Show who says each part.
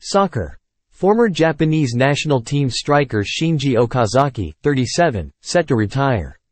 Speaker 1: Soccer. Former Japanese national team striker Shinji Okazaki, 37, set to retire.